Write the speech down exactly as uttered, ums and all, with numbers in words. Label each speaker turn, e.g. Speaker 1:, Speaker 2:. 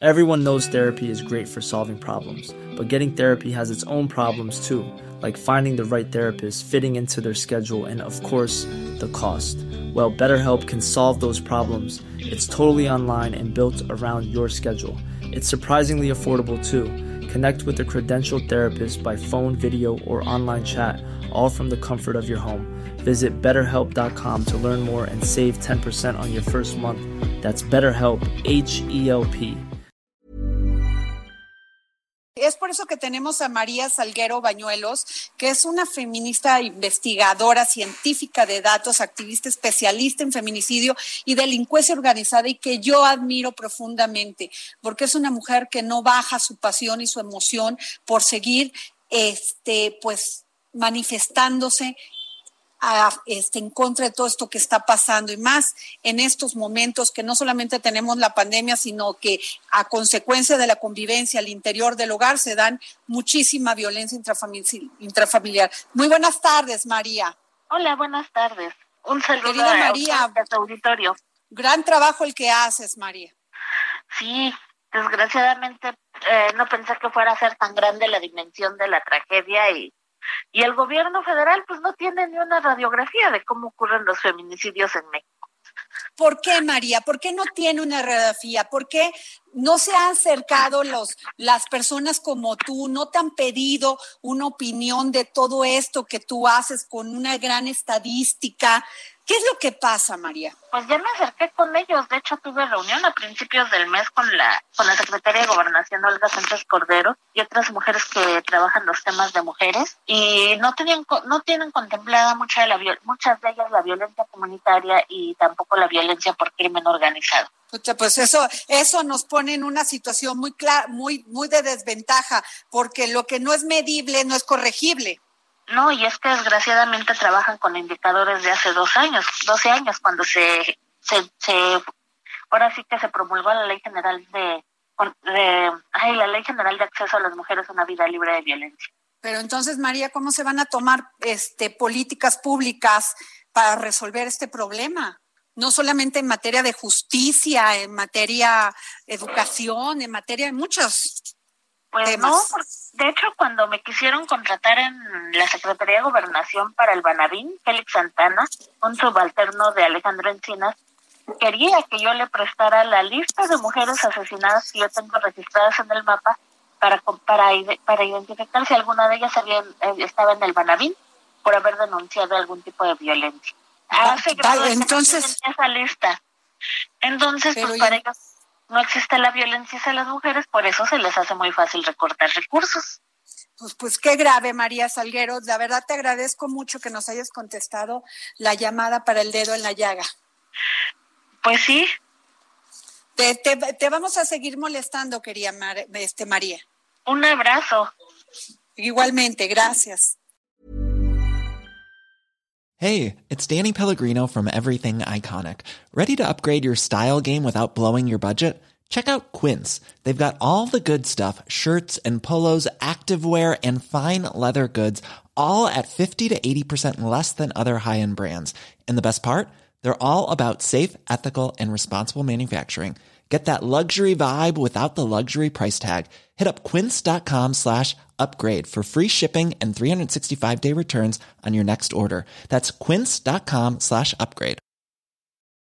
Speaker 1: Everyone knows therapy is great for solving problems, but getting therapy has its own problems too, like finding the right therapist, fitting into their schedule, and of course, the cost. Well, BetterHelp can solve those problems. It's totally online and built around your schedule. It's surprisingly affordable too. Connect with a credentialed therapist by phone, video, or online chat, all from the comfort of your home. Visit better help dot com to learn more and save ten percent on your first month. That's BetterHelp, H E L P.
Speaker 2: Es por eso que tenemos a María Salguero Bañuelos, que es una feminista investigadora, científica de datos, activista especialista en feminicidio y delincuencia organizada, y que yo admiro profundamente, porque es una mujer que no baja su pasión y su emoción por seguir este, pues, manifestándose A, este, en contra de todo esto que está pasando, y más en estos momentos que no solamente tenemos la pandemia, sino que a consecuencia de la convivencia al interior del hogar se dan muchísima violencia intrafamiliar. Muy buenas tardes, María.
Speaker 3: Hola, buenas tardes. Un saludo
Speaker 2: Querida
Speaker 3: a,
Speaker 2: María,
Speaker 3: a tu auditorio.
Speaker 2: Gran trabajo el que haces, María.
Speaker 3: Sí, desgraciadamente eh, no pensé que fuera a ser tan grande la dimensión de la tragedia, y Y el gobierno federal pues no tiene ni una radiografía de cómo ocurren los feminicidios en México.
Speaker 2: ¿Por qué, María? ¿Por qué no tiene una radiografía? ¿Por qué no se han acercado los, las personas como tú? ¿No te han pedido una opinión de todo esto que tú haces con una gran estadística? ¿Qué es lo que pasa, María?
Speaker 3: Pues ya me acerqué con ellos. De hecho, tuve reunión a principios del mes con la con la secretaria de Gobernación, Olga Sánchez Cordero, y otras mujeres que trabajan los temas de mujeres, y no tenían no tienen contemplada mucha de la muchas de ellas la violencia comunitaria y tampoco la violencia por crimen organizado.
Speaker 2: Pues eso eso nos pone en una situación muy clara, muy muy de desventaja, porque lo que no es medible no es corregible.
Speaker 3: No, y es que desgraciadamente trabajan con indicadores de hace dos años, doce años, cuando se, se, se ahora sí que se promulgó la Ley General de, de ay, la Ley General de Acceso a las Mujeres a una Vida Libre de Violencia.
Speaker 2: Pero entonces, María, ¿cómo se van a tomar este políticas públicas para resolver este problema? No solamente en materia de justicia, en materia de educación, en materia de muchos
Speaker 3: Pues
Speaker 2: temas.
Speaker 3: No, de hecho, cuando me quisieron contratar en la Secretaría de Gobernación para el Banavín, Félix Santana, un subalterno de Alejandro Encinas, quería que yo le prestara la lista de mujeres asesinadas que yo tengo registradas en el mapa para para, para identificar si alguna de ellas había, estaba en el Banavín por haber denunciado algún tipo de violencia. Hace grado de
Speaker 2: entonces
Speaker 3: esa lista. Entonces, pues para ellos no existe la violencia hacia las mujeres, por eso se les hace muy fácil recortar recursos.
Speaker 2: Pues, pues qué grave, María Salguero. La verdad te agradezco mucho que nos hayas contestado la llamada para el dedo en la llaga.
Speaker 3: Pues sí.
Speaker 2: Te, te, te vamos a seguir molestando, querida Mar, este, María.
Speaker 3: Un abrazo.
Speaker 2: Igualmente, gracias.
Speaker 4: Hey, it's Danny Pellegrino from Everything Iconic. Ready to upgrade your style game without blowing your budget? Check out Quince. They've got all the good stuff, shirts and polos, activewear, and fine leather goods, all at fifty to eighty percent less than other high-end brands. And the best part? They're all about safe, ethical, and responsible manufacturing. Get that luxury vibe without the luxury price tag. Hit up quince.com slash upgrade for free shipping and three sixty-five day returns on your next order. That's quince.com slash upgrade.